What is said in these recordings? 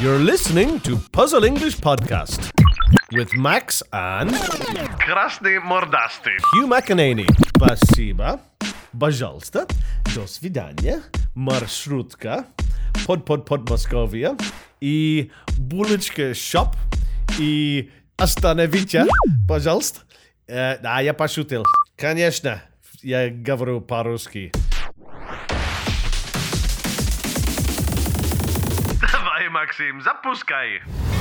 You're listening to Puzzle English Podcast with Max and Krasny Mordasty. Hugh McEnany. Спасибо. Пожалуйста. До свидания. Маршрутка. Под Московия. И булочка шоп. И остановите, пожалуйста. Да, я пошутил. Конечно, я говорю по-русски. Давай, Максим, запускай.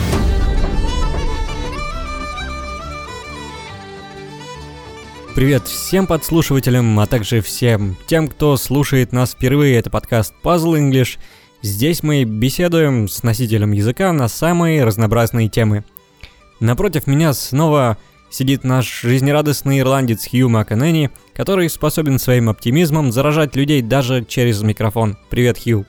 Привет всем подслушивателям, а также всем тем, кто слушает нас впервые. Это подкаст Puzzle English. Здесь мы беседуем с носителем языка на самые разнообразные темы. Напротив меня снова сидит наш жизнерадостный ирландец Хью МcEnany, который способен своим оптимизмом заражать людей даже через микрофон. Привет, Хью.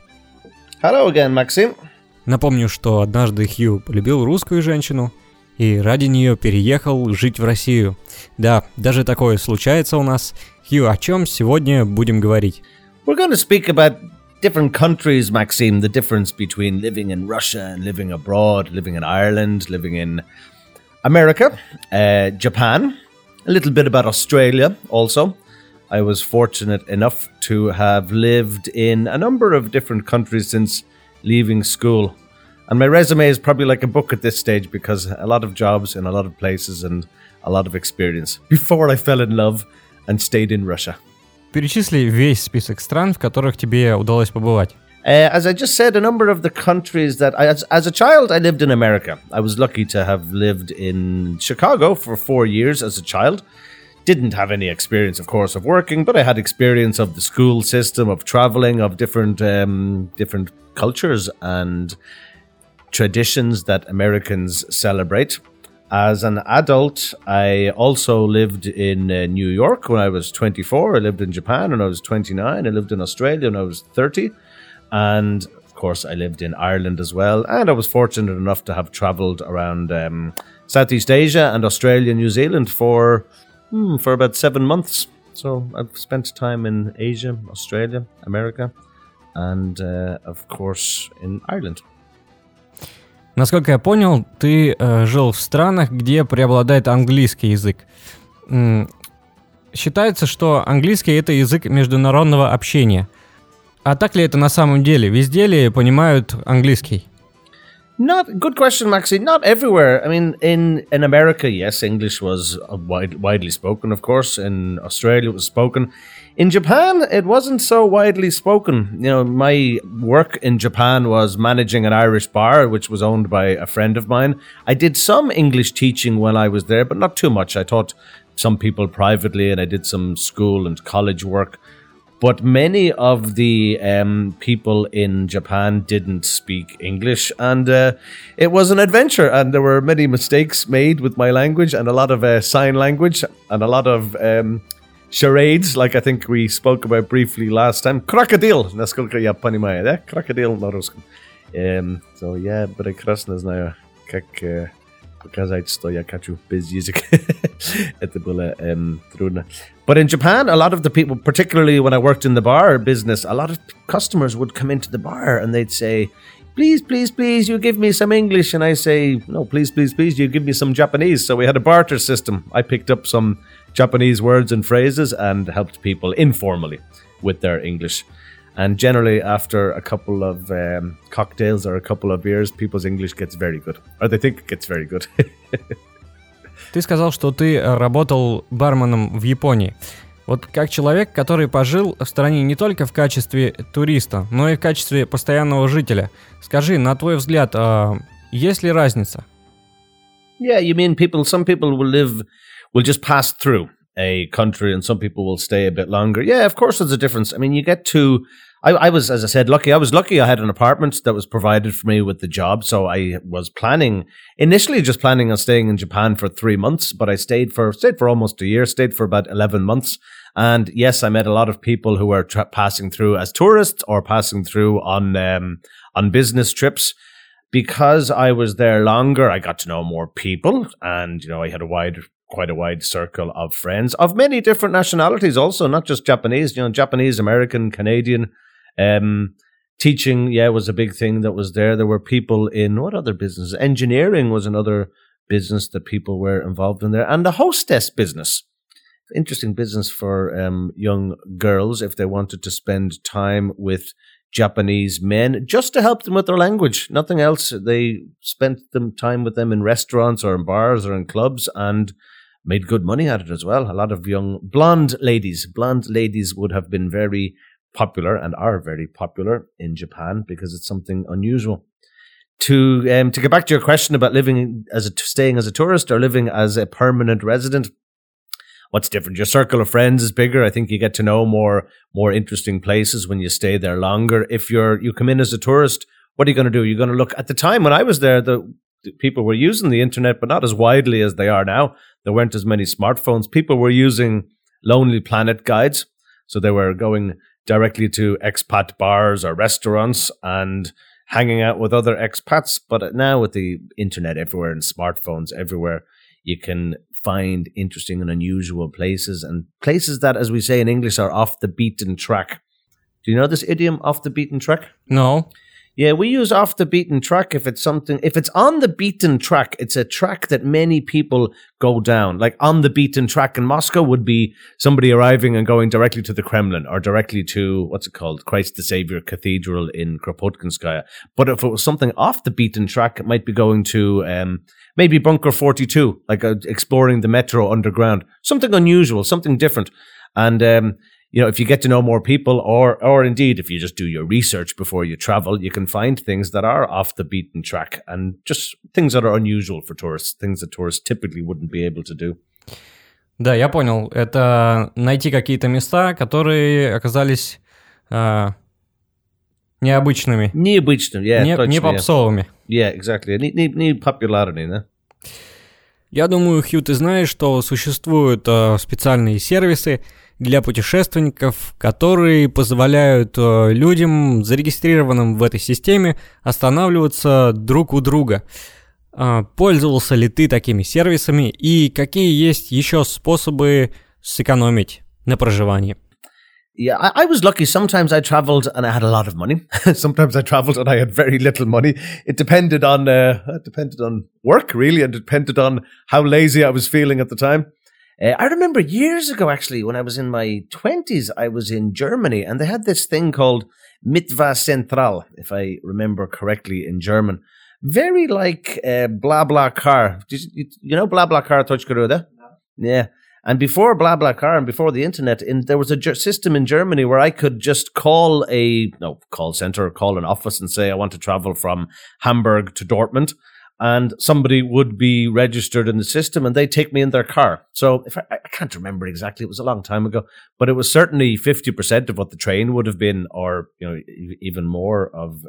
Hello again, Maxim. Напомню, что однажды Хью полюбил русскую женщину и ради нее переехал жить в Россию. Да, даже такое случается у нас. Хью, о чем сегодня будем говорить? We're going to speak about different countries, Maxim, the difference between living in Russia and living abroad, living in Ireland, living in America, Japan, a little bit about Australia also. I was fortunate enough to have lived in a number of different countries since leaving school. And my resume is probably like a book at this stage because a lot of jobs in a lot of places and a lot of experience before I fell in love and stayed in Russia. Перечисли весь список стран, в которых тебе удалось побывать. As I just said, a number of the countries that as a child I lived in America. I was lucky to have lived in Chicago for 4 years as a child. Didn't have any experience, of course, of working, but I had experience of the school system, of traveling, of different cultures and traditions that Americans celebrate. As an adult, I also lived in New York when I was 24. I lived in Japan when I was 29. I lived in Australia when I was 30. And, of course, I lived in Ireland as well. And I was fortunate enough to have traveled around Southeast Asia and Australia and New Zealand for about 7 months. So I've spent time in Asia, Australia, America, and, of course, in Ireland. Насколько я понял, ты жил в странах, где преобладает английский язык. Считается, что английский — это язык международного общения. А так ли это на самом деле? Везде ли понимают английский? Good question, Maxi. Not everywhere. I mean, in America, yes, English was widely spoken, of course. In Australia, it was spoken. In Japan, it wasn't so widely spoken. You know, my work in Japan was managing an Irish bar, which was owned by a friend of mine. I did some English teaching when I was there, but not too much. I taught some people privately, and I did some school and college work. But many of the people in Japan didn't speak English, and it was an adventure, and there were many mistakes made with my language, and a lot of sign language, and a lot of charades, like I think we spoke about briefly last time. Crocodile, насколько я понимаю, да? Crocodile на русском. So, yeah, прекрасно знаю, как показать, что я хочу без языка. Это было трудно. But in Japan, a lot of the people, particularly when I worked in the bar business, a lot of customers would come into the bar and they'd say, please, please, please, you give me some English. And I say, no, please, please, please, you give me some Japanese. So we had a barter system. I picked up some Japanese words and phrases and helped people informally with their English. And generally, after a couple of cocktails or a couple of beers, people's English gets very good. Or they think it gets very good. Ты сказал, что ты работал барменом в Японии. Вот как человек, который пожил в стране не только в качестве туриста, но и в качестве постоянного жителя. Скажи, на твой взгляд, есть ли разница? Yeah, you mean some people will just pass through a country and some people will stay a bit longer. Yeah, of course there's a difference. I mean, you get to... I was, as I said, lucky. I was lucky I had an apartment that was provided for me with the job. So I was initially just planning on staying in Japan for 3 months, but I stayed for almost a year, stayed for about 11 months. And yes, I met a lot of people who were passing through as tourists or passing through on business trips. Because I was there longer, I got to know more people, and, you know, I had quite a wide circle of friends of many different nationalities also, not just Japanese, you know, Japanese, American, Canadian, Teaching, was a big thing that was there. There were people in what other businesses? Engineering was another business that people were involved in there. And the hostess business. Interesting business for young girls if they wanted to spend time with Japanese men just to help them with their language. Nothing else. They spent time with them in restaurants or in bars or in clubs and made good money at it as well. A lot of young blonde ladies would have been very popular and are very popular in Japan because it's something unusual. To get back to your question about staying as a tourist or living as a permanent resident, what's different? Your circle of friends is bigger. I think you get to know more interesting places when you stay there longer. If you come in as a tourist, what are you going to do? You're going to look. At the time when I was there, the people were using the internet, but not as widely as they are now. There weren't as many smartphones. People were using Lonely Planet guides, so they were going directly to expat bars or restaurants and hanging out with other expats. But now with the internet everywhere and smartphones everywhere, you can find interesting and unusual places and places that, as we say in English, are off the beaten track. Do you know this idiom, off the beaten track? No. Yeah, we use off the beaten track if it's on the beaten track, it's a track that many people go down. Like on the beaten track in Moscow would be somebody arriving and going directly to the Kremlin or directly to, what's it called, Christ the Savior Cathedral in Kropotkinskaya. But if it was something off the beaten track, it might be going to maybe Bunker 42, like exploring the metro underground. Something unusual, something different. And if you get to know more people or indeed if you just do your research before you travel, you can find things that are off the beaten track and just things that are unusual for tourists, things that tourists typically wouldn't be able to do. Да, я понял. Это найти какие-то места, которые оказались необычными. Необычными, не попсовыми. Yeah, exactly. Не popularity, да? Я думаю, Хью, ты знаешь, что существуют специальные сервисы для путешественников, которые позволяют людям, зарегистрированным в этой системе, останавливаться друг у друга. Пользовался ли ты такими сервисами и какие есть еще способы сэкономить на проживании? Yeah, I was lucky. Sometimes I traveled and I had a lot of money. Sometimes I traveled and I had very little money. It depended on work, really, and depended on how lazy I was feeling at the time. I remember years ago, actually, when I was in my 20s, I was in Germany and they had this thing called Mitva Central, if I remember correctly in German. Very like BlaBlaCar. You know BlaBlaCar, Touchgaruda? Yeah. And before BlaBlaCar and before the internet, there was a system in Germany where I could just call call center or call an office and say, I want to travel from Hamburg to Dortmund. And somebody would be registered in the system and they'd take me in their car. So I can't remember exactly, it was a long time ago, but it was certainly 50% of what the train would have been, or even more of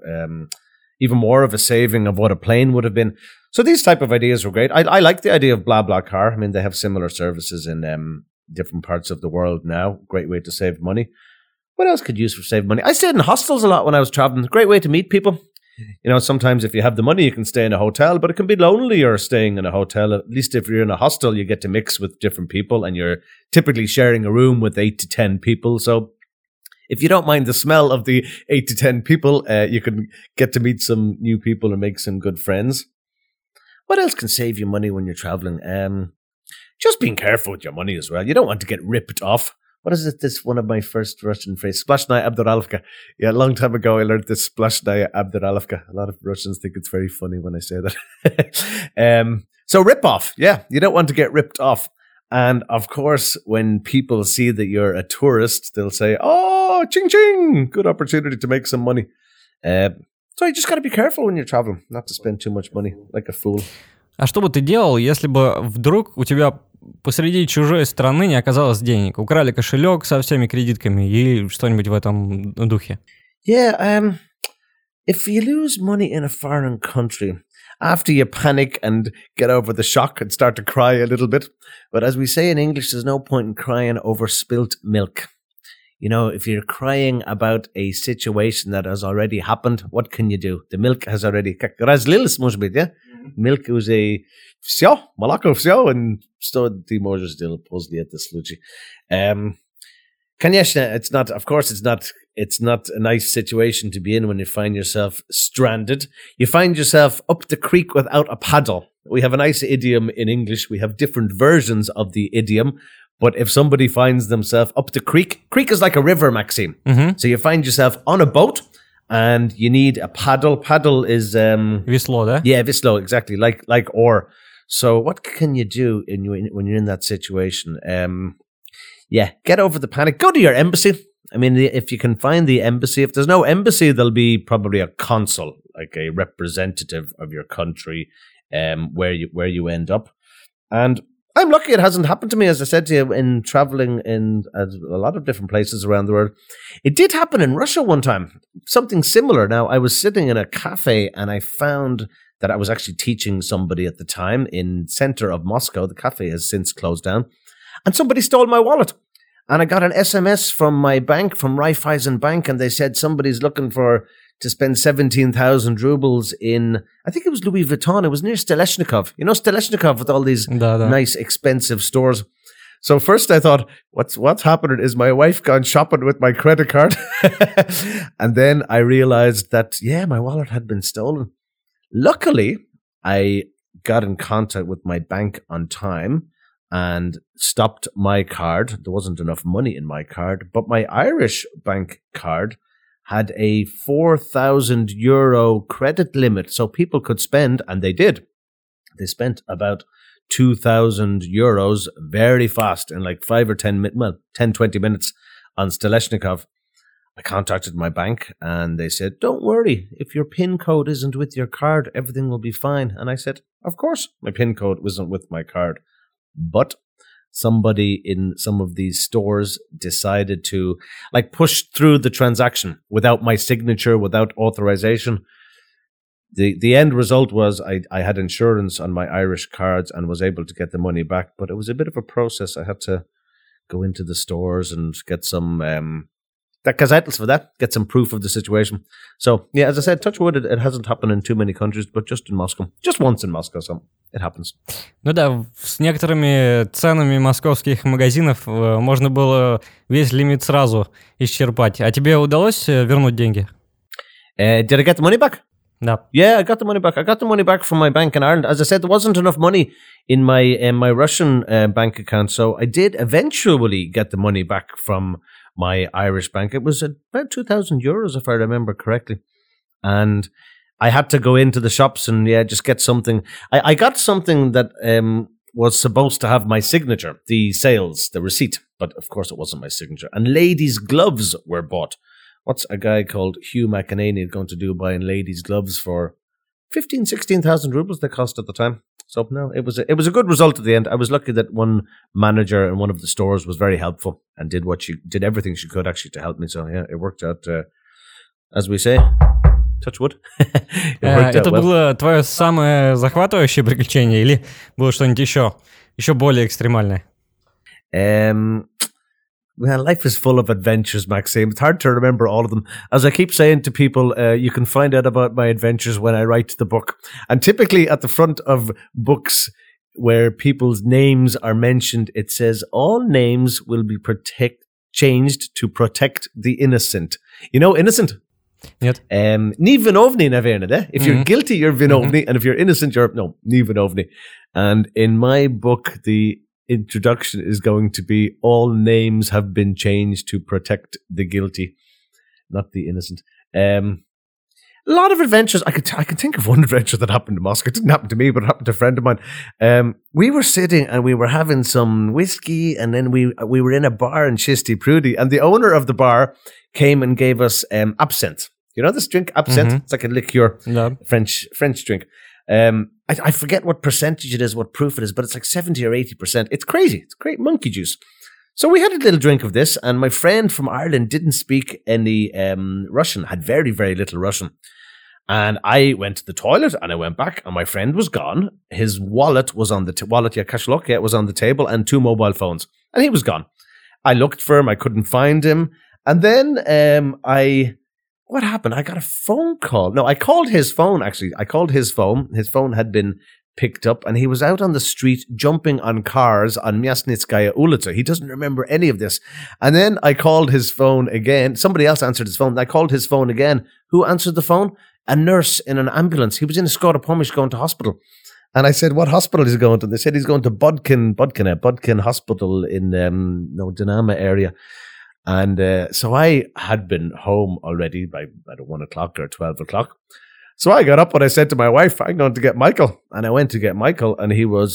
a saving of what a plane would have been. So these type of ideas were great. I like the idea of BlaBlaCar. I mean, they have similar services in different parts of the world now. Great way to save money. What else could you use for saving money? I stayed in hostels a lot when I was traveling. Great way to meet people. Sometimes if you have the money, you can stay in a hotel, but it can be lonelier staying in a hotel. At least if you're in a hostel, you get to mix with different people and you're typically sharing a room with 8 to 10 people. So if you don't mind the smell of the 8 to 10 people, you can get to meet some new people and make some good friends. What else can save you money when you're traveling? Just being careful with your money as well. You don't want to get ripped off. What is it? This one of my first Russian phrases. Splashnaya Abduralovka. Yeah, a long time ago I learned this Splashnaya Abduralovka. A lot of Russians think it's very funny when I say that. So rip off. Yeah, you don't want to get ripped off. And of course, when people see that you're a tourist, they'll say, oh, ching ching, good opportunity to make some money. So you just got to be careful when you're traveling, not to spend too much money like a fool. А что бы ты делал, если бы вдруг у тебя посреди чужой страны не оказалось денег? Украли кошелек со всеми кредитками или что-нибудь в этом духе? Yeah, if you lose money in a foreign country, after you panic and get over the shock and start to cry a little bit, but as we say in English, there's no point in crying over spilt milk. If you're crying about a situation that has already happened, what can you do? The milk has already... Разлилось, может быть, yeah? Milk уже все, молоко все, and что ты можешь сделать после этого случая. Конечно, it's not. Of course, it's not. It's not a nice situation to be in when you find yourself stranded. You find yourself up the creek without a paddle. We have a nice idiom in English. We have different versions of the idiom. But if somebody finds themselves up the creek is like a river, Maxime. Mm-hmm. So you find yourself on a boat and you need a paddle. Paddle is Весло, да? yeah, Vislo, exactly, like oar. So what can you do when you're in that situation? Yeah, get over the panic. Go to your embassy. I mean, if you can find the embassy. If there's no embassy, there'll be probably a consul, like a representative of your country, where you end up. And I'm lucky it hasn't happened to me, as I said to you, in traveling in a lot of different places around the world. It did happen in Russia one time, something similar. Now, I was sitting in a cafe and I found that I was actually teaching somebody at the time in center of Moscow. The cafe has since closed down. And somebody stole my wallet. And I got an SMS from my bank, from Raiffeisen Bank, and they said somebody's looking to spend 17,000 rubles in, I think it was Louis Vuitton. It was near Steleshnikov. You know Steleshnikov with all these nice, expensive stores. So first I thought, what's happening? Is my wife gone shopping with my credit card? And then I realized that, yeah, my wallet had been stolen. Luckily, I got in contact with my bank on time and stopped my card. There wasn't enough money in my card, but my Irish bank card had a 4,000 euro credit limit, so people could spend, and they did. They spent about 2,000 euros very fast in like 10-20 minutes on Steleshnikov. I contacted my bank and they said, don't worry, if your PIN code isn't with your card, everything will be fine. And I said, of course, my PIN code wasn't with my card. But somebody in some of these stores decided to push through the transaction without my signature, without authorization. The end result was I had insurance on my Irish cards and was able to get the money back, but it was a bit of a process. I had to go into the stores and get some gazettels for that, get some proof of the situation. So, yeah, as I said, touch wood, it hasn't happened in too many countries, but just in Moscow. Just once in Moscow, so it happens. Ну да, с некоторыми ценами московских магазинов можно было весь лимит сразу исчерпать. А тебе удалось вернуть деньги? Did I get the money back? Да. Yeah, I got the money back. I got the money back from my bank in Ireland. As I said, there wasn't enough money in my Russian bank account, so I did eventually get the money back from my Irish bank. It was about 2,000 euros, if I remember correctly. And I had to go into the shops and, just get something. I got something that was supposed to have my signature, the sales, the receipt. But, of course, it wasn't my signature. And ladies' gloves were bought. What's a guy called Hugh McEnany going to do buying ladies' gloves for 16,000 rubles they cost at the time? So no, it was a good result at the end. I was lucky that one manager in one of the stores was very helpful and did everything she could actually to help me. So yeah, it worked out, as we say, touch wood. Это было твое самое захватывающее приключение или было что-нибудь еще более экстремальное? Well, life is full of adventures, Maxime. It's hard to remember all of them. As I keep saying to people, you can find out about my adventures when I write the book. And typically at the front of books where people's names are mentioned, it says all names will be changed to protect the innocent. You know, innocent? Нет. Ni vinovni, naverna. If you're guilty, you're vinovni. And if you're innocent, ni vinovni. And in my book, the introduction is going to be all names have been changed to protect the guilty, not the innocent. A lot of adventures. I can think of one adventure that happened in Moscow. It didn't happen to me, but it happened to a friend of mine. We were sitting and we were having some whiskey, and then we were in a bar in Chisty Prudy, and the owner of the bar came and gave us absinthe. You know this drink, absinthe? It's like a liqueur, French drink. I forget what percentage it is, what proof it is, but it's like 70 or 80%. It's crazy. It's great monkey juice. So we had a little drink of this, and my friend from Ireland didn't speak any Russian, had very, very little Russian. And I went to the toilet, and I went back, and my friend was gone. His wallet was on the kashlok, was on the table, and 2 mobile phones. And he was gone. I looked for him. I couldn't find him. And then what happened? I got a phone call. No, I called his phone, actually. I called his phone. His phone had been picked up, and he was out on the street jumping on cars on Miasnitskaya Ulica. He doesn't remember any of this. And then I called his phone again. Somebody else answered his phone. I called his phone again. Who answered the phone? A nurse in an ambulance. He was in a Skoda Pomish going to hospital. And I said, what hospital is he going to? They said he's going to Budkin Hospital in Dinama area. And so I had been home already by 1 o'clock or 12 o'clock. So I got up and I said to my wife, I'm going to get Michael. And I went to get Michael, and he was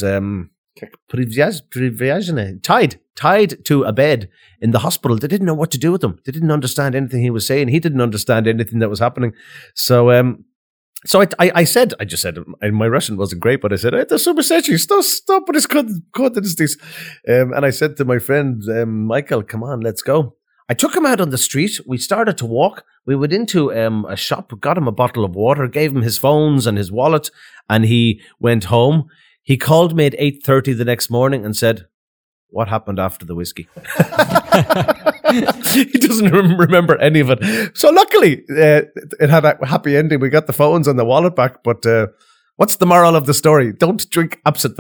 tied to a bed in the hospital. They didn't know what to do with him. They didn't understand anything he was saying. He didn't understand anything that was happening. So I just said, and my Russian wasn't great, but I said, это сумасшедший, что происходит здесь? And I said to my friend, Michael, come on, let's go. I took him out on the street. We started to walk. We went into a shop, got him a bottle of water, gave him his phones and his wallet, and he went home. He called me at 8:30 the next morning and said, what happened after the whiskey? He doesn't remember any of it. So luckily, it had a happy ending. We got the phones and the wallet back. But what's the moral of the story? Don't drink absinthe.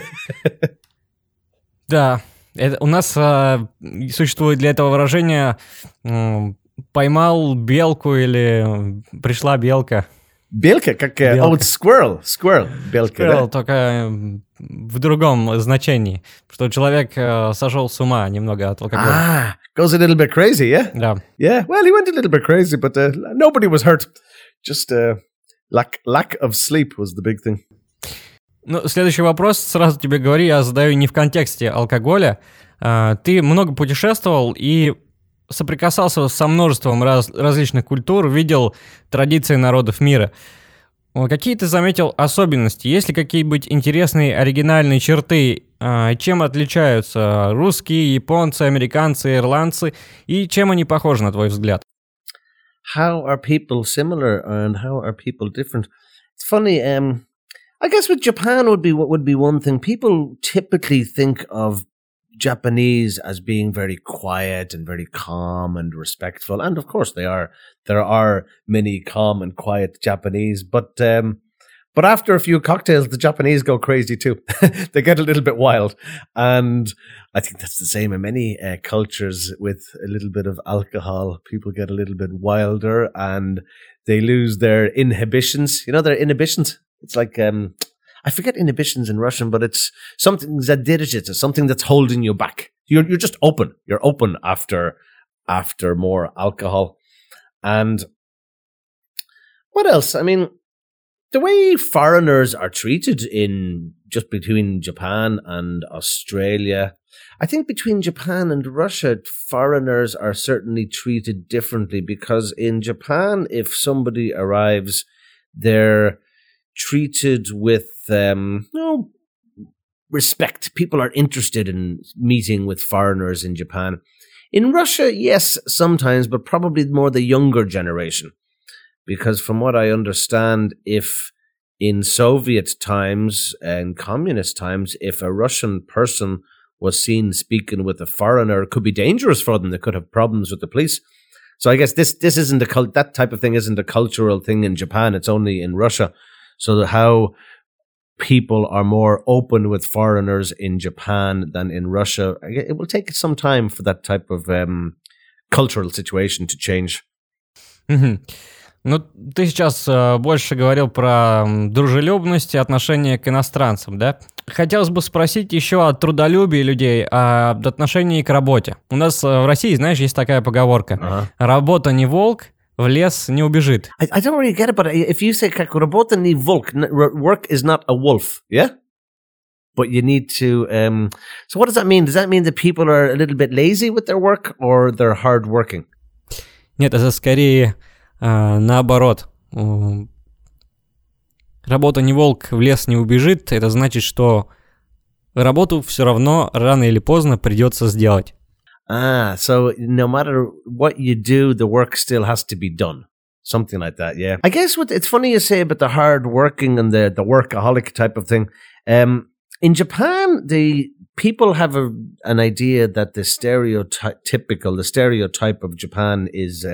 Да, у нас существует для этого выражение «поймал белку» или «пришла белка». Белка, как squirrel, белка, Squirrel, да? только в другом значении, что человек сошел с ума немного от алкоголя. Goes a little bit crazy, yeah? Да. Yeah, well, he went a little bit crazy, but nobody was hurt. Just lack of sleep was the big thing. Ну, следующий вопрос, сразу тебе говорю, я задаю не в контексте алкоголя. Ты много путешествовал и соприкасался со множеством различных культур, видел традиции народов мира. Какие ты заметил особенности? Есть ли какие-нибудь интересные оригинальные черты? Чем отличаются русские, японцы, американцы, ирландцы? И чем они похожи, на твой взгляд? How are people similar and how are people different? It's funny, I guess with Japan would be one thing. People typically think of Japanese as being very quiet and very calm and respectful, and of course they are. There are many calm and quiet Japanese, but after a few cocktails, the Japanese go crazy too. They get a little bit wild, and I think that's the same in many cultures. With a little bit of alcohol, people get a little bit wilder and they lose their inhibitions. You know, their inhibitions. It's like I forget inhibitions in Russian, but it's something задержится, something that's holding you back. You're just open. You're open after more alcohol. And what else? I mean, the way foreigners are treated in just between Japan and Australia, I think between Japan and Russia, foreigners are certainly treated differently, because in Japan, if somebody arrives, they're treated with respect. People are interested in meeting with foreigners in Japan. In Russia, yes, sometimes, but probably more the younger generation. Because from what I understand, if in Soviet times and communist times, if a Russian person was seen speaking with a foreigner, it could be dangerous for them. They could have problems with the police. So I guess this isn't that type of thing isn't a cultural thing in Japan. It's only in Russia. So how people are more open with foreigners in Japan than in Russia, it will take some time for that type of cultural situation to change. Mm-hmm. Ну, ты сейчас больше говорил про дружелюбность и отношение к иностранцам, да? Хотелось бы спросить еще о трудолюбии людей, об отношении к работе. У нас в России, знаешь, есть такая поговорка: «Работа не волк, в лес не убежит». I don't really get it, but if you say как работа не волк, work is not a wolf, yeah? But you need to... so what does that mean? Does that mean that people are a little bit lazy with their work, or they're hard-working? Нет, это скорее наоборот. Работа не волк, в лес не убежит. Это значит, что работу все равно рано или поздно придется сделать. So no matter what you do, the work still has to be done. Something like that, yeah. I guess it's funny you say about the hard working and the workaholic type of thing. In Japan, the people have an idea that the stereotype of Japan is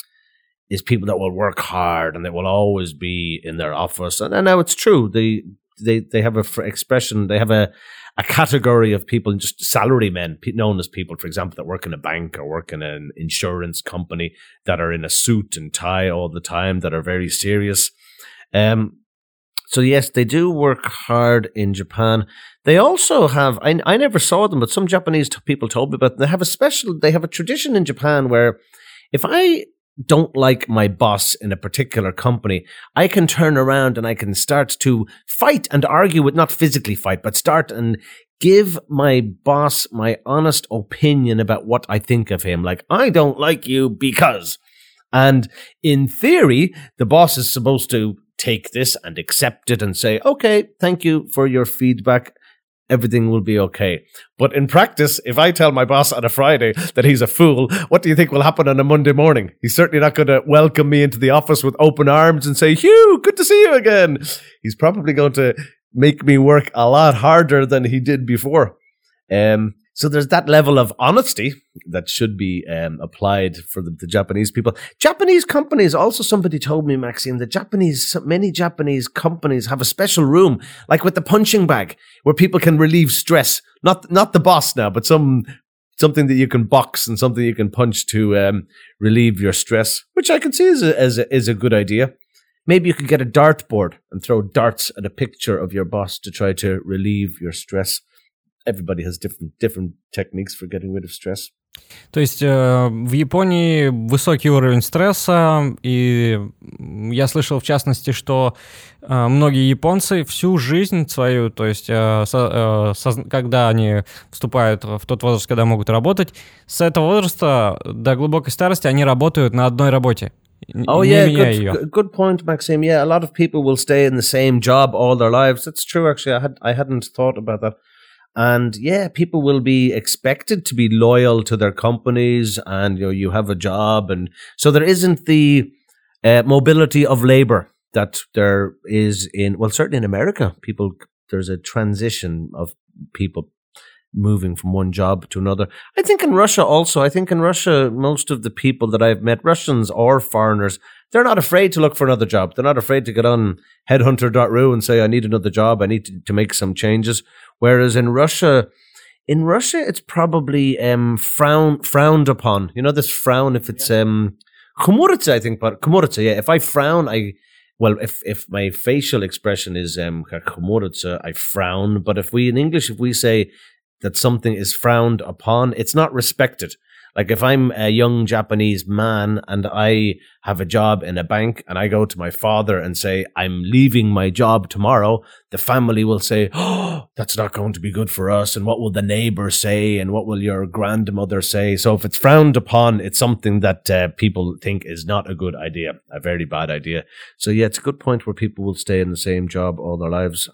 people that will work hard and they will always be in their office. And now it's true. they have a expression. They have a category of people, just salary men, known as people, for example, that work in a bank or work in an insurance company, that are in a suit and tie all the time, that are very serious. So yes, they do work hard in Japan. They also have, I never saw them, but some Japanese people told me about them. They have a tradition in Japan where if I don't like my boss in a particular company, I can turn around and I can start to fight and argue with, not physically fight, but start and give my boss my honest opinion about what I think of him. Like, I don't like you because. And in theory, the boss is supposed to take this and accept it and say, okay, thank you for your feedback. Everything will be okay. But in practice, if I tell my boss on a Friday that he's a fool, what do you think will happen on a Monday morning? He's certainly not going to welcome me into the office with open arms and say, Hugh, good to see you again. He's probably going to make me work a lot harder than he did before. So there's that level of honesty that should be applied for the Japanese people. Japanese companies, also somebody told me, Maxime, that many Japanese companies have a special room, like with the punching bag, where people can relieve stress. Not the boss now, but something that you can box and something you can punch to relieve your stress, which I can see is a good idea. Maybe you could get a dartboard and throw darts at a picture of your boss to try to relieve your stress. Everybody has different techniques for getting rid of stress. То есть в Японии высокий уровень стресса, и я слышал в частности, что многие японцы всю жизнь свою, то есть когда они вступают в тот возраст, когда могут работать, с этого возраста до глубокой старости они работают на одной работе. Oh yeah, good point, Maxime. Yeah, a lot of people will stay in the same job all their lives. That's true, actually. I hadn't thought about that. And yeah, people will be expected to be loyal to their companies, and you have a job, and so there isn't the mobility of labor that there is certainly in America. There's a transition of people moving from one job to another. I think in Russia also. I think in Russia, most of the people that I've met, Russians or foreigners, they're not afraid to look for another job. They're not afraid to get on headhunter.ru and say, I need another job. I need to make some changes. Whereas in Russia, it's probably frowned upon. You know, this frown, if it's khumuritsa, I think, but khumuritsa, yeah. If I frown, if my facial expression is khumuritsa, I frown. But in English, if we say that something is frowned upon, it's not respected. Like if I'm a young Japanese man and I have a job in a bank and I go to my father and say, I'm leaving my job tomorrow, the family will say, oh, that's not going to be good for us. And what will the neighbor say? And what will your grandmother say? So if it's frowned upon, it's something that people think is not a good idea, a very bad idea. So yeah, it's a good point where people will stay in the same job all their lives.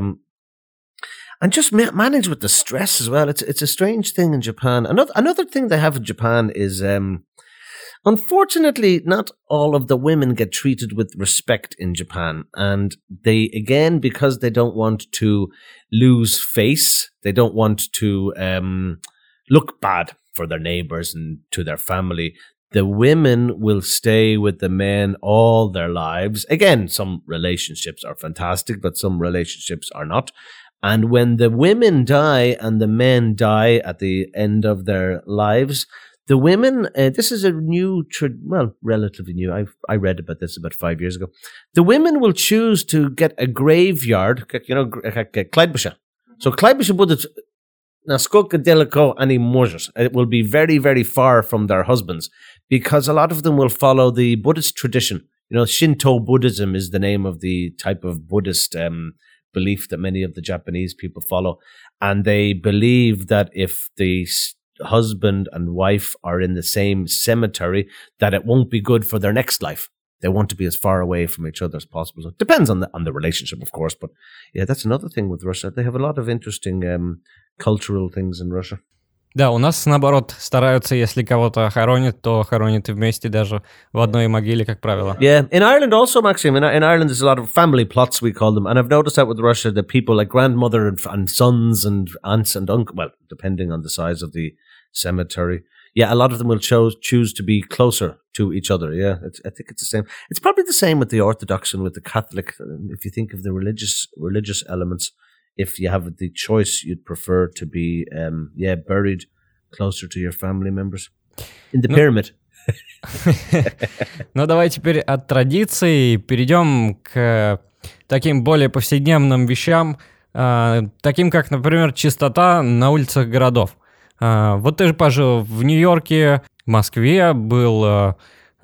And just manage with the stress as well. It's a strange thing in Japan. Another thing they have in Japan is, unfortunately, not all of the women get treated with respect in Japan. And they, again, because they don't want to lose face, they don't want to look bad for their neighbors and to their family, the women will stay with the men all their lives. Again, some relationships are fantastic, but some relationships are not. And when the women die and the men die at the end of their lives, the women, this is a new, relatively new. I read about this about 5 years ago. The women will choose to get a graveyard, Clydebisha. So Clydebisha bude naskолько daleko ani możesz. It will be very, very far from their husbands because a lot of them will follow the Buddhist tradition. You know, Shinto Buddhism is the name of the type of Buddhist belief that many of the Japanese people follow, and they believe that if the husband and wife are in the same cemetery, that it won't be good for their next life. They want to be as far away from each other as possible. So it depends on the relationship, of course, but yeah, that's another thing with Russia. They have a lot of interesting cultural things in Russia. Да, у нас, наоборот, стараются, если кого-то хоронят, то хоронят и вместе даже в одной могиле, как правило. Yeah, in Ireland also, Maxime, in Ireland there's a lot of family plots, we call them, and I've noticed that with Russia, that people like grandmother and sons and aunts and uncles, well, depending on the size of the cemetery, Yeah, a lot of them will choose to be closer to each other. Yeah, I think it's the same. It's probably the same with the Orthodox and with the Catholic. If you think of the religious elements, if you have the choice, you'd prefer to be buried closer to your family members in the pyramid. Ну, давай теперь от традиций перейдем к таким более повседневным вещам, таким как, например, чистота на улицах городов. Вот ты же пожил в Нью-Йорке, в Москве, был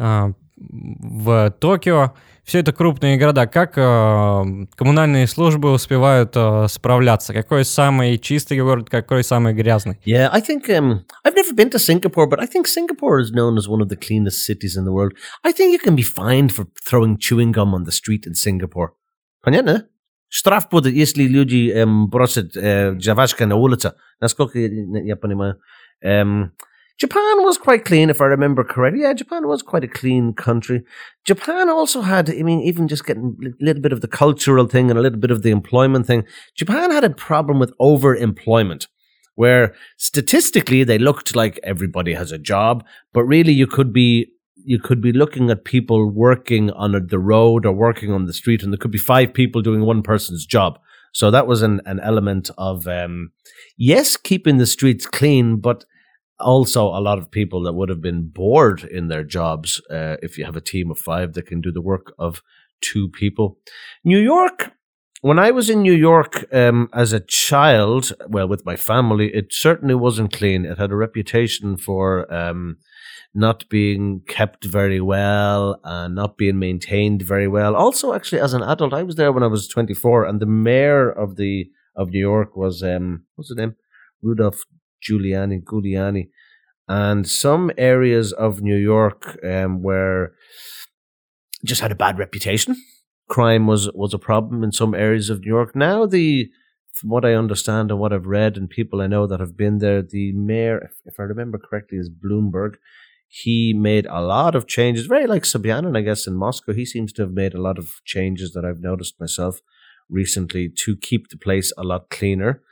в Токио. Все это крупные города. Как коммунальные службы успевают справляться? Какой самый чистый город, какой самый грязный? Yeah, I think I've never been to Singapore, but I think Singapore is known as one of the cleanest cities in the world. I think you can be fined for throwing chewing gum on the street in Singapore. Понятно? Штраф будет, если люди бросят жвачку на улице. Насколько я понимаю. Japan was quite clean, if I remember correctly. Yeah, Japan was quite a clean country. Japan also had, I mean, even just getting a little bit of the cultural thing and a little bit of the employment thing, Japan had a problem with overemployment, where statistically they looked like everybody has a job, but really you could be looking at people working on the road or working on the street, and there could be 5 people doing one person's job. So that was an element of, yes, keeping the streets clean, but also a lot of people that would have been bored in their jobs if you have a team of 5 that can do the work of 2 people. New York, when I was in New York as a child, well, with my family, it certainly wasn't clean. It had a reputation for not being kept very well and not being maintained very well. Also, actually, as an adult, I was there when I was 24, and the mayor of New York was, what's his name? Rudolph Giuliani, and some areas of New York where just had a bad reputation. Crime was a problem in some areas of New York. Now, from what I understand and what I've read and people I know that have been there, the mayor, if I remember correctly, is Bloomberg. He made a lot of changes, very like Sobyanin, I guess, in Moscow. He seems to have made a lot of changes that I've noticed myself recently to keep the place a lot cleaner.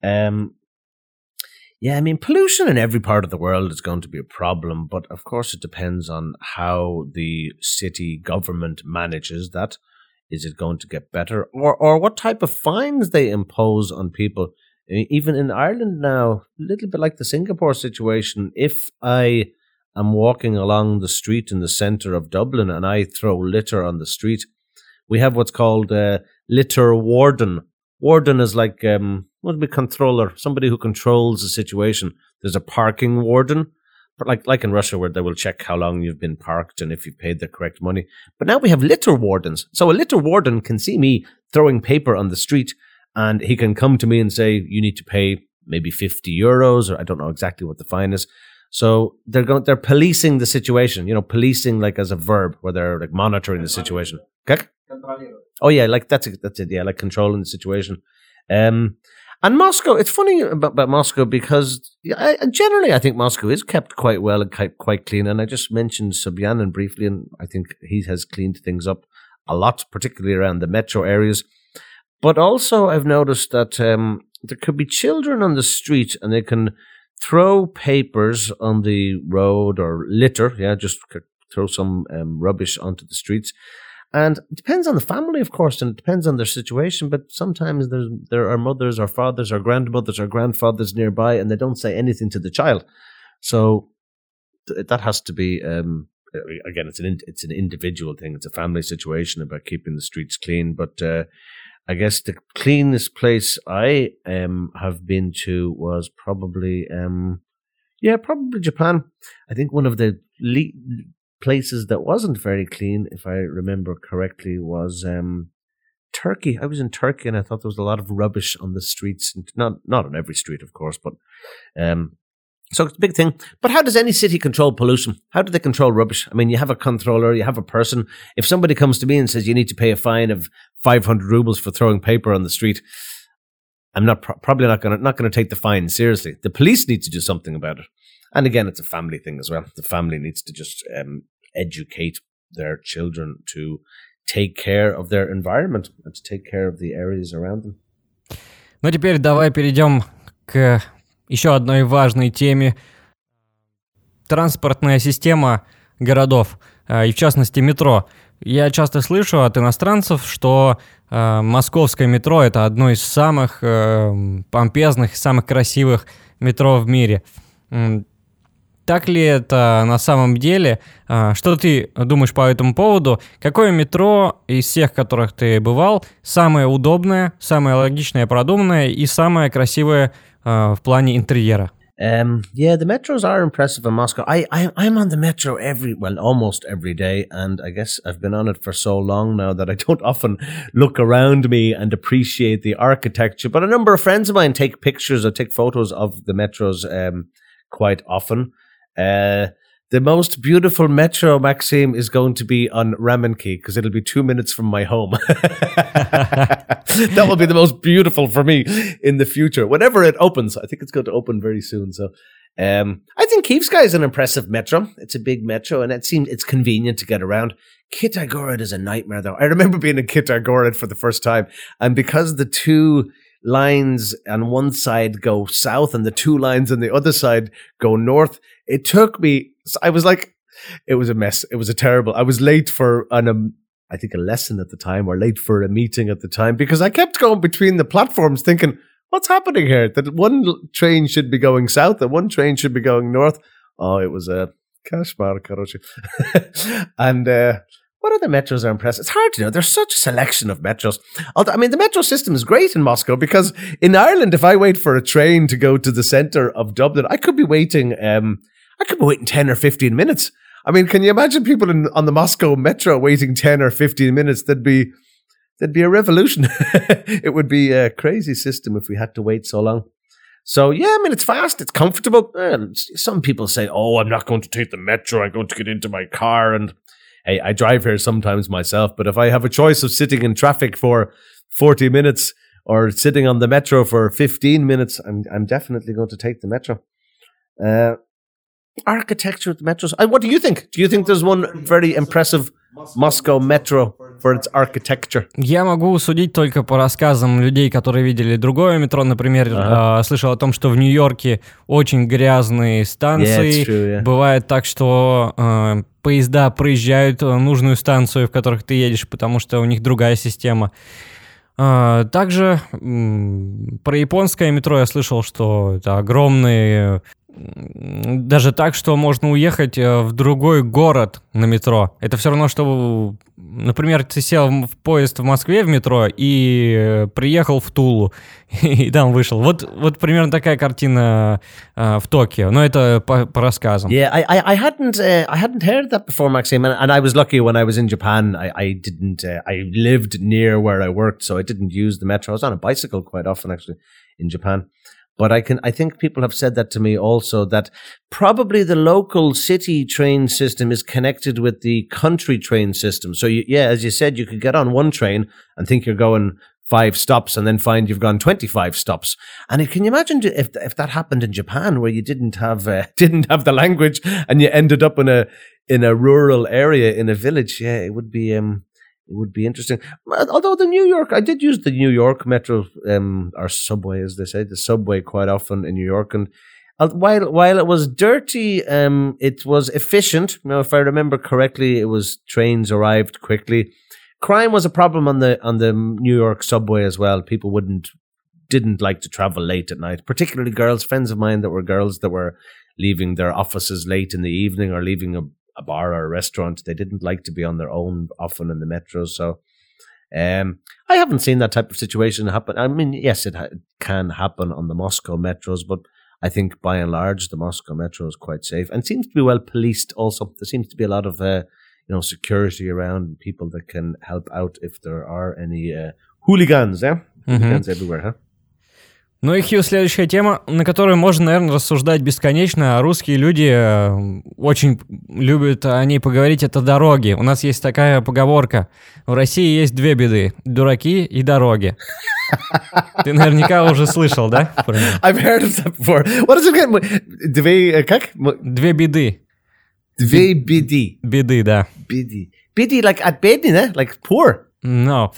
Yeah, I mean, pollution in every part of the world is going to be a problem, but of course it depends on how the city government manages that. Is it going to get better? Or what type of fines they impose on people? Even in Ireland now, a little bit like the Singapore situation, if I am walking along the street in the centre of Dublin and I throw litter on the street, we have what's called a litter warden. Warden is like, what would be controller? Somebody who controls the situation. There's a parking warden, but like in Russia where they will check how long you've been parked and if you've paid the correct money. But now we have litter wardens. So a litter warden can see me throwing paper on the street and he can come to me and say, you need to pay maybe €50, or I don't know exactly what the fine is. So they're policing the situation, policing like as a verb, where they're like monitoring the situation. Okay? Oh yeah, like that's it. Yeah, like controlling the situation. And Moscow, it's funny about Moscow because generally I think Moscow is kept quite well and quite clean. And I just mentioned Sobyanin briefly, and I think he has cleaned things up a lot, particularly around the metro areas. But also I've noticed that there could be children on the street and they can throw papers on the road or litter, just throw some rubbish onto the streets. And it depends on the family, of course, and it depends on their situation, but sometimes there are mothers or fathers or grandmothers or grandfathers nearby and they don't say anything to the child. So that has to be, again, it's an individual thing. It's a family situation about keeping the streets clean. But I guess the cleanest place I have been to was probably Japan. I think one of the places that wasn't very clean, if I remember correctly, was Turkey. I was in Turkey and I thought there was a lot of rubbish on the streets. Not on every street, of course, but so it's a big thing. But how does any city control pollution? How do they control rubbish? I mean, you have a controller, you have a person. If somebody comes to me and says you need to pay a fine of 500 rubles for throwing paper on the street, I'm probably not going to take the fine seriously. The police need to do something about it. And again, it's a family thing as well. The family needs to just educate their children to take care of their environment and to take care of the areas around them. Ну, теперь давай перейдем к еще одной важной теме. транспортная система городов, и в частности метро. Я часто слышу от иностранцев, что московское метро — это одно из самых помпезных, самых красивых метро в мире. Так ли это на самом деле? Что ты думаешь по этому поводу? Какое метро из всех, в которых ты бывал, самое удобное, самое логичное, продуманное и самое красивое в плане интерьера? Yeah, the metros are impressive in Moscow. I'm on the metro almost every day, and I guess I've been on it for so long now that I don't often look around me and appreciate the architecture. But a number of friends of mine take photos of the metros quite often. The most beautiful metro, Maxime, is going to be on Ramenki because it'll be 2 minutes from my home. That will be the most beautiful for me in the future. Whenever it opens, I think it's going to open very soon. So I think Kyivskaya is an impressive metro. It's a big metro and it's convenient to get around. Kitay-Gorod is a nightmare though. I remember being in Kitay-Gorod for the first time, and because the two lines on one side go south and the two lines on the other side go north, it took me, I was like, it was a mess. It was I was late for I think a lesson at the time, or late for a meeting at the time, because I kept going between the platforms thinking, what's happening here? That one train should be going south and one train should be going north. Oh, it was a kashmar, karoche. And what other metros are impressive? It's hard to know. There's such a selection of metros. I mean, the metro system is great in Moscow because in Ireland, if I wait for a train to go to the centre of Dublin, I could be waiting 10 or 15 minutes. I mean, can you imagine people on the Moscow metro waiting 10 or 15 minutes? There'd be a revolution. It would be a crazy system if we had to wait so long. So, yeah, I mean, it's fast, it's comfortable. Some people say, oh, I'm not going to take the metro, I'm going to get into my car. And hey, I drive here sometimes myself, but if I have a choice of sitting in traffic for 40 minutes or sitting on the metro for 15 minutes, I'm definitely going to take the metro. Architecture of the metros. What do you think? Do you think there's one very impressive Moscow metro for its architecture? Я могу судить только по рассказам людей, которые видели другое метро. Например, слышал о том, что в Нью-Йорке очень грязные станции. Yeah, it's true, yeah. Бывает так, что поезда проезжают нужную станцию, в которых ты едешь, потому что у них другая система. Также про японское метро я слышал, что это огромные... Даже так, что можно уехать в другой город на метро. Это все равно, что, например, ты сел в поезд в Москве в метро и приехал в Тулу, и там вышел. Вот примерно такая картина в Токио, но это по рассказам. Yeah, I hadn't heard that before, Maxime, and I was lucky when I was in Japan. I lived near where I worked, so I didn't use the metro. I was on a bicycle quite often, actually, in Japan. But I think people have said that to me also, that probably the local city train system is connected with the country train system. So, as you said, you could get on one train and think you're going 5 stops and then find you've gone 25 stops. And can you imagine if that happened in Japan, where you didn't have the language and you ended up in a rural area, in a village? Yeah, it would be interesting. Although I did use the New York metro, or subway, as they say, the subway quite often in New York. And while it was dirty, it was efficient. Now, if I remember correctly, trains arrived quickly. Crime was a problem on the New York subway as well. People didn't like to travel late at night, particularly girls. Friends of mine that were girls that were leaving their offices late in the evening or leaving a bar or a restaurant. They didn't like to be on their own often in the metros. So I haven't seen that type of situation happen. I mean, yes, it can happen on the Moscow metros, but I think by and large the Moscow metro is quite safe and seems to be well policed also. There seems to be a lot of security around, people that can help out if there are any hooligans. Yeah, hooligans everywhere, huh? Ну и Хью, следующая тема, на которую можно, наверное, рассуждать бесконечно. Русские люди очень любят о ней поговорить, это дороги. У нас есть такая поговорка. В России есть 2 беды. Дураки и дороги. Ты наверняка уже слышал, да? I've heard of that before. What is it again? Как? 2 беды. 2 беды. Беды, да. Беды. Беды, like at бедный, да? Like poor. No.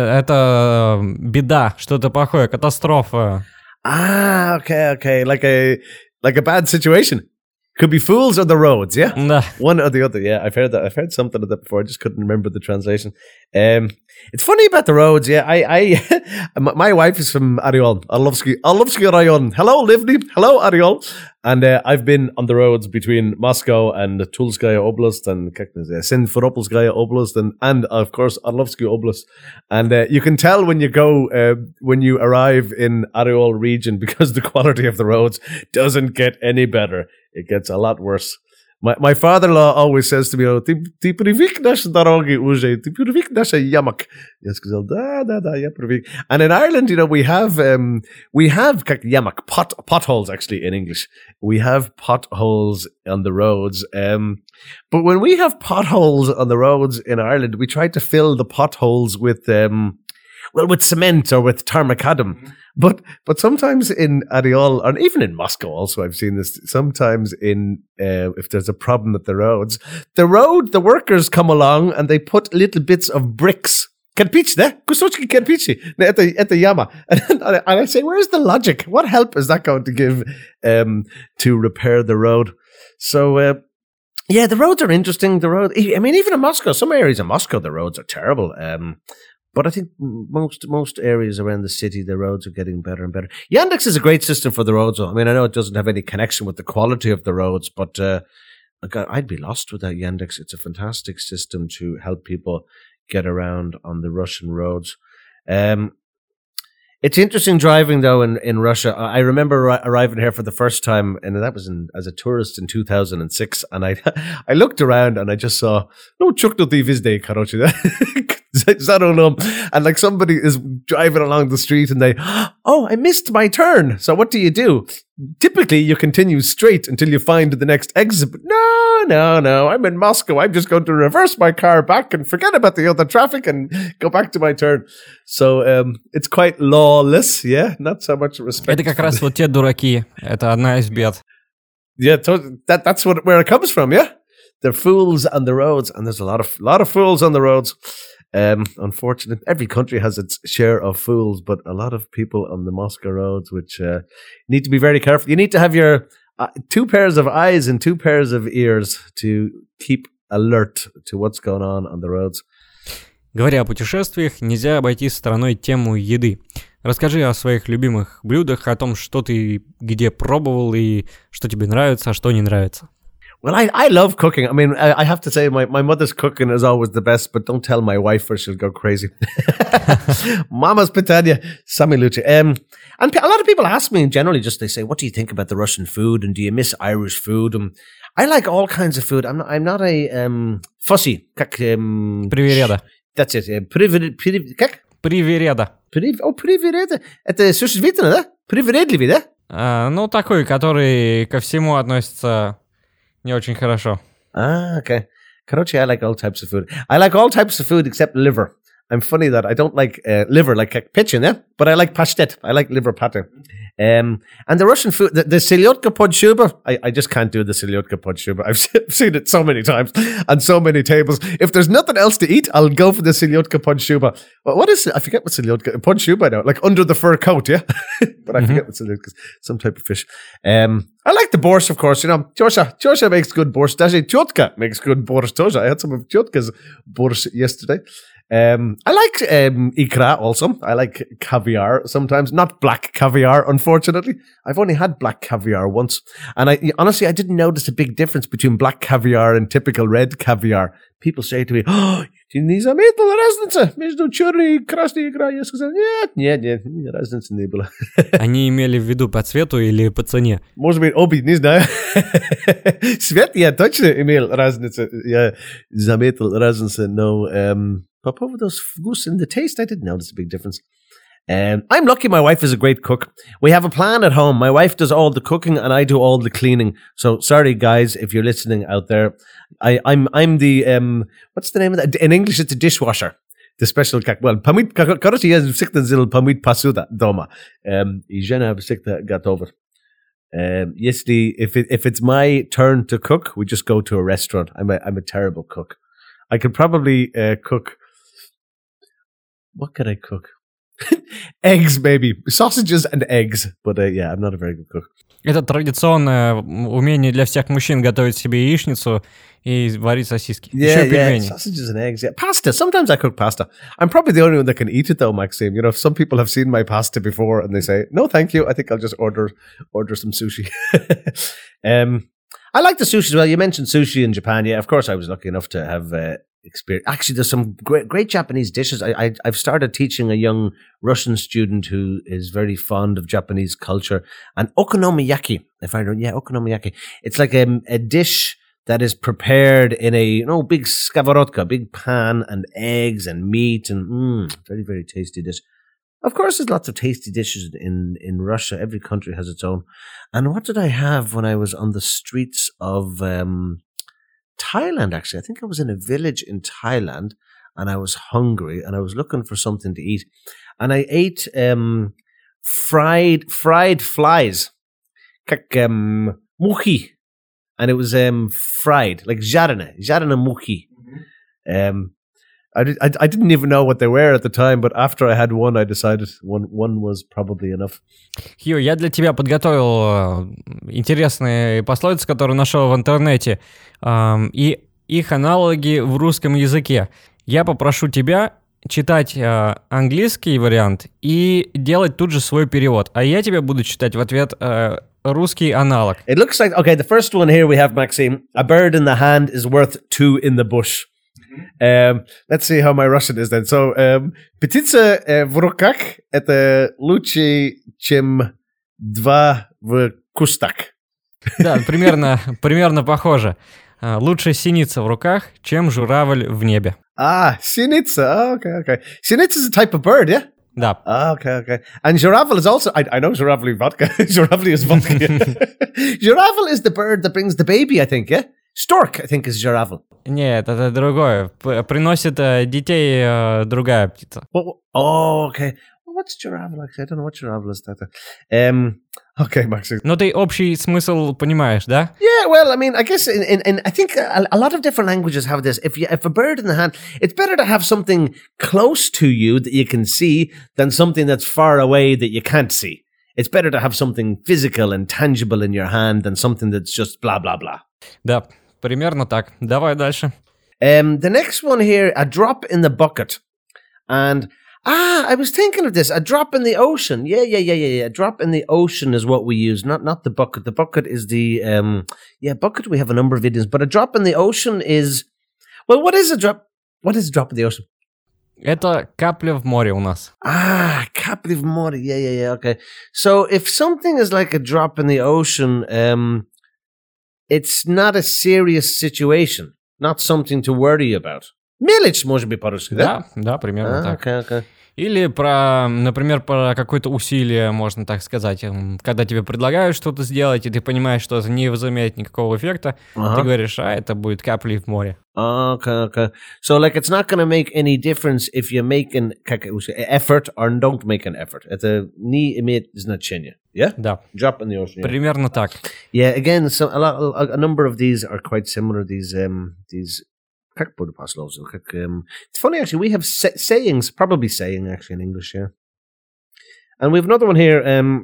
Это беда, что-то плохое, катастрофа. Okay. Like a bad situation. Could be fools or the roads, yeah? Да. One or the other, yeah. I've heard that. I've heard something of that before. I just couldn't remember the translation. It's funny about the roads, yeah. My wife is from Ariol, Arlovsky Rayon. Hello, Livni. Hello, Ariol. And I've been on the roads between Moscow and Tulskaya Oblast and Simferopolskaya Oblast and of course Arlovsky Oblast. And you can tell when you go, when you arrive in Ariol region, because the quality of the roads doesn't get any better. It gets a lot worse. My father-in-law always says to me, "Ты привык наши дороги уже, ты привык наши ямок." Я сказал, да, я привык. And in Ireland, we have как ямок, potholes actually in English. We have potholes on the roads. But when we have potholes on the roads in Ireland, we try to fill the potholes with with cement or with tarmacadam. But sometimes in Ariol, or even in Moscow also, I've seen this, sometimes if there's a problem with the roads, the workers come along and they put little bits of bricks. Kирпич, ne? Кусочки кирпичи at the yama. And I say, where's the logic? What help is that going to give to repair the road? So, yeah, the roads are interesting. Even in Moscow, some areas of Moscow, the roads are terrible. But I think most areas around the city, the roads are getting better and better. Yandex is a great system for the roads. I mean, I know it doesn't have any connection with the quality of the roads, but I'd be lost without Yandex. It's a fantastic system to help people get around on the Russian roads. It's interesting driving, though, in Russia. I remember arriving here for the first time, and that was as a tourist in 2006. And I looked around and I just saw, no, chukno ty vizde, karoche. And like somebody is driving along the street and I missed my turn. So what do? Typically, you continue straight until you find the next exit. But no, I'm in Moscow. I'm just going to reverse my car back and forget about the other traffic and go back to my turn. So it's quite lawless, yeah? Not so much respect. Это как раз вот те дураки. Это одна из бед. Yeah, that's where it comes from, yeah? They're fools on the roads, and there's a lot of fools on the roads. Unfortunate. Every country has its share of fools, but a lot of people on the Moscow roads, which need to be very careful. You need to have your 2 pairs of eyes and 2 pairs of ears to keep alert to what's going on the roads. Говоря о путешествиях, нельзя обойти стороной тему еды. Расскажи о своих любимых блюдах, о том, что ты где пробовал и что тебе нравится, а что не нравится. Well, I love cooking. I mean, I have to say my mother's cooking is always the best, but don't tell my wife or she'll go crazy. Mama's pitanya, sami luce. And a lot of people ask me, and generally just they say, what do you think about the Russian food? And do you miss Irish food? I like all kinds of food. I'm not a fussy. Привереда. That's it. Как? Привереда. Привереда. Это существительное, да? Привередливый, да? Ну, такой, который ко всему относится... Не очень хорошо. Okay. Короче, I like all types of food. I like all types of food except liver. I'm funny that I don't like liver, like pechin, yeah? But I like pashtet. I like liver pate. And the Russian food, the selyotka pod shuba, I just can't do the selyotka pod shuba. I've seen it so many times on so many tables. If there's nothing else to eat, I'll go for the selyotka pod shuba. What is it? I forget what selyotka pod shuba now. Like under the fur coat, yeah? But I forget what selyotka is. Some type of fish. I like the borscht, of course. Tjosha makes good borscht. Даже Tyotka makes good borscht. Tjosha. I had some of Tyotka's borscht yesterday. I like ikra also. I like caviar sometimes. Not black caviar, unfortunately. I've only had black caviar once. And honestly, I didn't notice a big difference between black caviar and typical red caviar. People say to me, не заметил разницы между черной и красной икрой? Я сказал, нет, разницы не было. Они имели в виду по цвету или по цене? Может быть, обе, не знаю. Цвет я точно имел разницу. Я заметил разницу, но... But over those vkus in the taste, I didn't notice a big difference. I'm lucky my wife is a great cook. We have a plan at home. My wife does all the cooking and I do all the cleaning. So sorry, guys, if you're listening out there. I'm the, what's the name of that? In English, it's a dishwasher. The special, pamit, короче, я всегда сделал памит посуда дома. И жена всегда готова. If it's my turn to cook, we just go to a restaurant. I'm a terrible cook. I could probably cook. What could I cook? Eggs, maybe. Sausages and eggs. But yeah, I'm not a very good cook. Это традиционное умение для всех мужчин готовить себе яичницу и варить сосиски. Еще пельмени. Sausages and eggs. Yeah, pasta. Sometimes I cook pasta. I'm probably the only one that can eat it, though, Maxime. You know, some people have seen my pasta before and they say, "No, thank you. I think I'll just order some sushi." I like the sushi as well. You mentioned sushi in Japan. Yeah, of course, I was lucky enough to have experience. Actually, there's some great Japanese dishes. I've started teaching a young Russian student who is very fond of Japanese culture. And okonomiyaki, okonomiyaki. It's like a dish that is prepared in a big skовородka, big pan, and eggs and meat, and very, very tasty dish. Of course, there's lots of tasty dishes in Russia. Every country has its own. And what did I have when I was on the streets of Thailand, actually? I think I was in a village in Thailand and I was hungry and I was looking for something to eat. And I ate fried flies, как мухи. And it was fried, like жареные мухи. I didn't even know what they were at the time, but after I had one, I decided one was probably enough. Хью, я для тебя подготовил интересные пословицы, которые нашел в интернете, и их аналоги в русском языке. Я попрошу тебя читать английский вариант и делать тут же свой перевод, а я тебе буду читать в ответ русский аналог. It looks like, okay, the first one here we have, Maxime. A bird in the hand is worth two in the bush. Let's see how my Russian is then. So, птица в руках – это лучше, чем два в кустах. Да, примерно похоже. Лучше синица в руках, чем журавль в небе. Синица. Okay. Синица is a type of bird, yeah? Да. Okay. And журавль is also, I know журавль vodka. Журавль is vodka. Журавль is the bird that brings the baby, I think, yeah? Stork, I think, is журавль. Нет, это другое. Приносит детей другая птица. Okay. Well, what's журавль? I don't know what журавль is. Okay, Max. Но ты общий смысл понимаешь, да? Yeah, well, I mean, I guess in I think a lot of different languages have this. If a bird in the hand, it's better to have something close to you that you can see than something that's far away that you can't see. It's better to have something physical and tangible in your hand than something that's just blah, blah, blah. Да, примерно так. Давай дальше. The next one here, a drop in the bucket. And, I was thinking of this. A drop in the ocean. Yeah. A drop in the ocean is what we use, not the bucket. The bucket is the, bucket we have a number of idioms. But a drop in the ocean is, well, what is a drop? What is a drop in the ocean? Это капля в море у нас. Капля в море. Yeah, okay. So if something is like a drop in the ocean, it's not a serious situation, not something to worry about. Мелочь может быть по-русски, да? Да, примерно так. Okay. Или например, про какое-то усилие, можно так сказать. Когда тебе предлагают что-то сделать, и ты понимаешь, что это не возымеет никакого эффекта, ты говоришь, это будет каплей в море. Okay. So, like, it's not going to make any difference if you make an effort or don't make an effort. Это не имеет значения. Yeah? Да. Drop in the ocean. Yeah. Примерно так. Yeah, again, a number of these are quite similar. These как буду пословицы? It's funny, actually, we have sayings, probably saying, actually, in English, yeah. And we have another one here.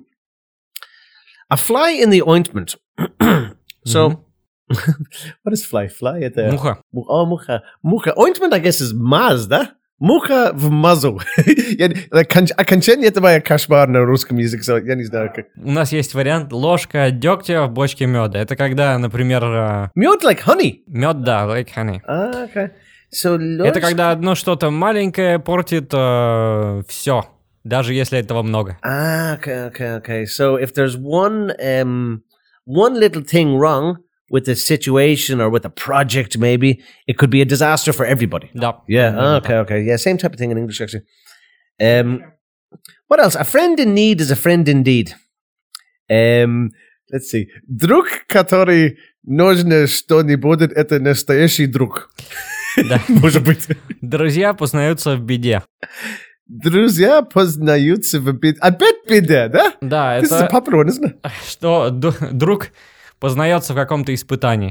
A fly in the ointment. So, what is fly? Fly at the... Муха. Муха. Ointment, I guess, is maz, да? Муха в мазу. Окончание этого кошмар на русском языке, я не знаю как. У нас есть вариант ложка дегтя в бочке меда. Это когда, например... Мед like honey? Мед, да, like honey. Okay. So, это когда одно что-то маленькое портит все, даже если этого много. Okay. So if there's one little thing wrong with a situation or with a project, maybe it could be a disaster for everybody. Да. Yeah. Okay. Yeah, same type of thing in English, actually. What else? A friend in need is a friend indeed. Let's see. Друг, который нужно что-нибудь, это настоящий друг. Да. Может быть. Друзья познаются в беде. Друзья познаются в беде. Опять беда, да? Да, This is a popular one, isn't it? Что друг познается в каком-то испытании.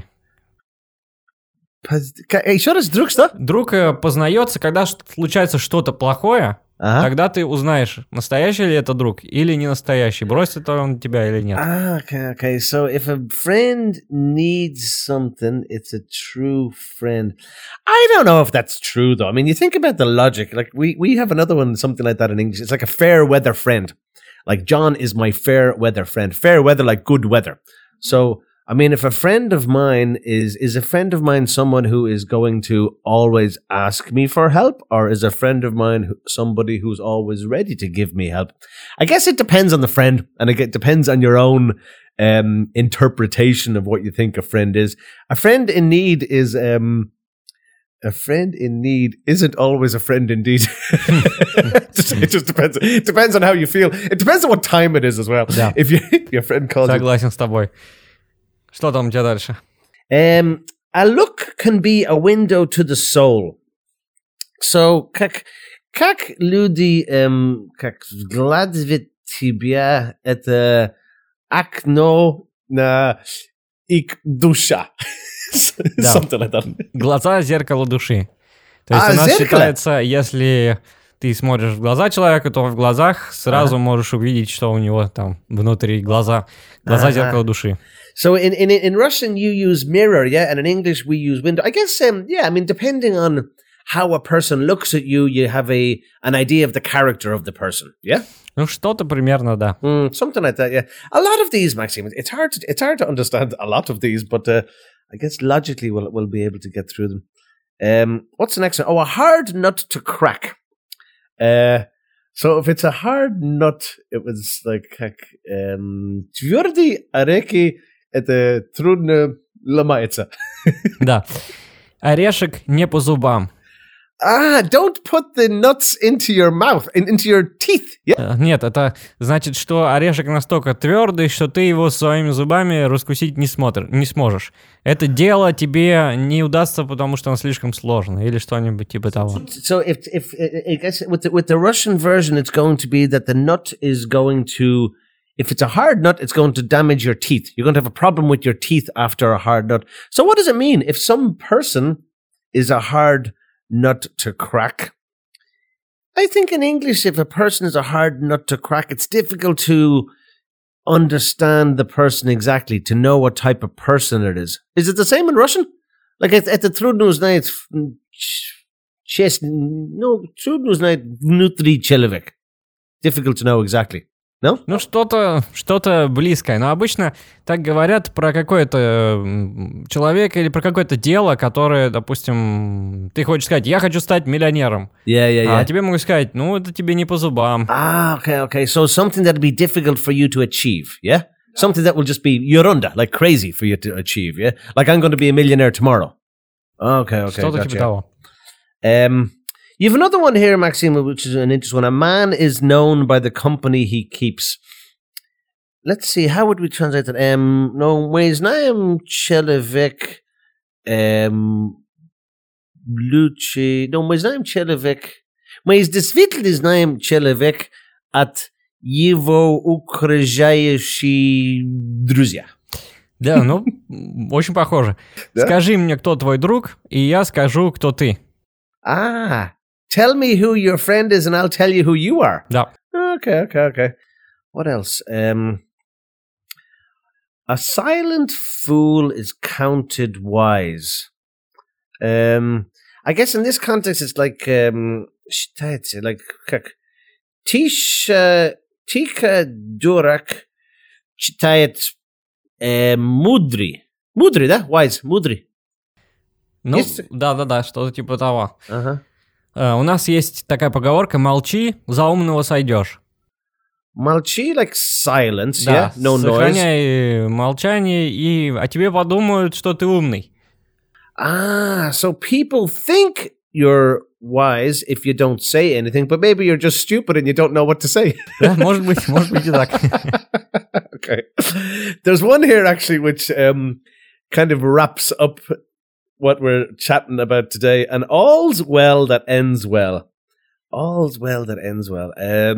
Еще раз, друг что? Друг познается, когда случается что-то плохое, Uh-huh. Тогда ты узнаешь, настоящий ли это друг или не настоящий, бросит он тебя или нет. Okay. So if a friend needs something, it's a true friend. I don't know if that's true, though. I mean, you think about the logic. Like, we have another one, something like that in English. It's like a fair weather friend. Like, John is my fair weather friend. Fair weather, like good weather. So, I mean, if a friend of mine is a friend of mine someone who is going to always ask me for help, or is a friend of mine somebody who's always ready to give me help? I guess it depends on the friend, and it depends on your own interpretation of what you think a friend is. A friend in need is a friend in need isn't always a friend indeed. It just depends. It depends on how you feel. It depends on what time it is as well. Yeah. If your friend calls you. Согласен с тобой. Что там у тебя дальше? A look can be a window to the soul. So, как люди, как взгляд в тебя, это окно на их душа. Something like that. Глаза — зеркало души. То есть у нас зеркало? считается, если ты смотришь в глаза человека, то в глазах сразу можешь увидеть, что у него там внутри глаза. Глаза — зеркало души. So in Russian you use mirror, yeah, and in English we use window. I guess, I mean, depending on how a person looks at you, you have an idea of the character of the person, yeah? Ну, что-то примерно, да. Something like that, yeah. A lot of these, Maxime, it's hard to understand a lot of these, but I guess logically we'll be able to get through them. What's the next one? Oh, a hard nut to crack. So if it's a hard nut, it was like твердые орехи это трудно ломается. Да. Орешек не по зубам. Don't put the nuts into your mouth, into your teeth. Yeah? Нет, это значит, что орешек настолько твердый, что ты его своими зубами раскусить не сможешь. Это дело тебе не удастся, потому что оно слишком сложно, или что-нибудь типа того. So if I guess with the Russian version, it's going to be that the nut is going to, if it's a hard nut, it's going to damage your teeth. You're going to have a problem with your teeth after a hard nut. So what does it mean if some person is a hard nut to crack? I think in English, if a person is a hard nut to crack, it's difficult to understand the person exactly, to know what type of person it is. Is it the same in Russian? Like это трудно узнать трудно узнать внутри человека. Difficult to know exactly. No? Ну, что-то близкое. Но обычно так говорят про какой-то человека или про какое-то дело, которое, допустим, ты хочешь сказать, я хочу стать миллионером. Yeah. А тебе могут сказать, ну, это тебе не по зубам. Okay. So something that'll be difficult for you to achieve, yeah? Something that will just be ерунда, like crazy for you to achieve, yeah? Like I'm going to be a millionaire tomorrow. Okay. Что-то Gotcha. типа того. You have another one here, Maxime, which is an interesting one. A man is known by the company he keeps. Let's see, how would we translate that? No, мы знаем человек лучше. No, мы знаем человек. Мы действительно знаем человек от его окружающие друзья. Да, ну, очень похоже. Скажи мне, кто твой друг, и я скажу, кто ты. Tell me who your friend is and I'll tell you who you are. Да. Okay. What else? A silent fool is counted wise. I guess in this context it's like как Тиха дурак читает мудрый. Мудрый, да? Wise, мудрый. Ну, Есть? да, что-то типа того. Ага. У нас есть такая поговорка: молчи, за умного сойдешь. Молчи, like silence, Да, yeah? No noise. сохраняй молчание, и о тебе подумают, что ты умный. So people think you're wise if you don't say anything, but maybe you're just stupid and you don't know what to say. Да, может быть и так. Okay. There's one here actually which kind of wraps up what we're chatting about today. And all's well that ends well. All's well that ends well.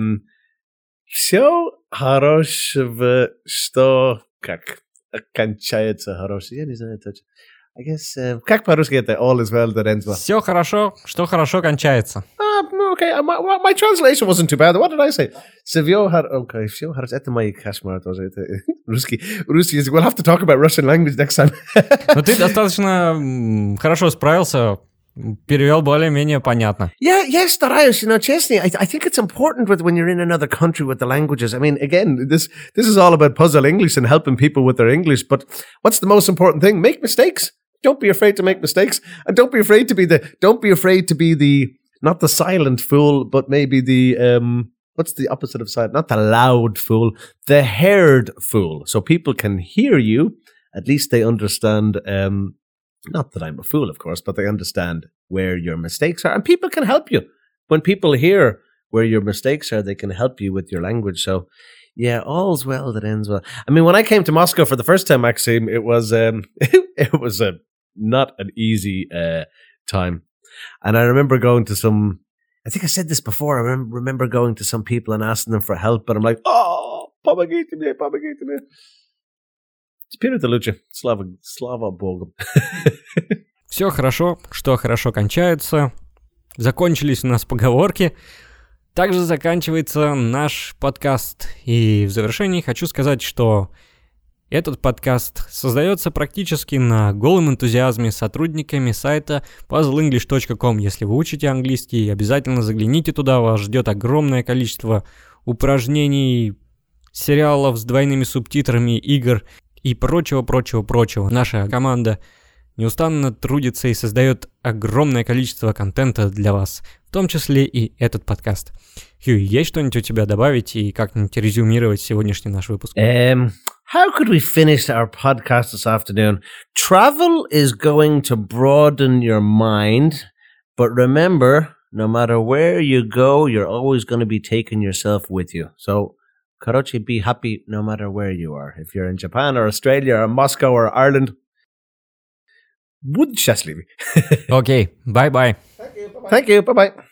Все хорошего, что как кончается хорошо. Я не знаю точно. I guess, как по-русски это all is well that ends well? Все хорошо, что хорошо кончается. okay. My translation wasn't too bad. What did I say? Всё это мои кошмары тоже. Русский язык. We'll have to talk about Russian language next time. Но ты достаточно хорошо справился, перевел более-менее понятно. Yeah, стараюсь, честно. I think it's important when you're in another country with the languages. I mean, again, this is all about puzzle English and helping people with their English, but what's the most important thing? Make mistakes. Don't be afraid to make mistakes, and don't be afraid to be the not the silent fool, but maybe the what's the opposite of silent? Not the loud fool, the heard fool. So people can hear you. At least they understand. Not that I'm a fool, of course, but they understand where your mistakes are, and people can help you. When people hear where your mistakes are, they can help you with your language. So, yeah, all's well that ends well. I mean, when I came to Moscow for the first time, Maxime, it was not an easy time. And I remember going to some, I think I said this before, I remember going to some people and asking them for help, but I'm like, помогите мне. Теперь это лучше. Слава Богу. Все хорошо, что хорошо кончается. Закончились у нас поговорки. Также заканчивается наш подкаст. И в завершении хочу сказать, что этот подкаст создается практически на голом энтузиазме сотрудниками сайта puzzleenglish.com. Если вы учите английский, обязательно загляните туда, вас ждет огромное количество упражнений, сериалов с двойными субтитрами, игр и прочего. Наша команда неустанно трудится и создает огромное количество контента для вас, в том числе и этот подкаст. Хью, есть что-нибудь у тебя добавить и как-нибудь резюмировать сегодняшний наш выпуск? How could we finish our podcast this afternoon? Travel is going to broaden your mind, but remember, no matter where you go, you're always going to be taking yourself with you. So, короче, be happy no matter where you are. If you're in Japan or Australia or Moscow or Ireland, будь счастливы. Окей, bye-bye. Thank you, bye-bye.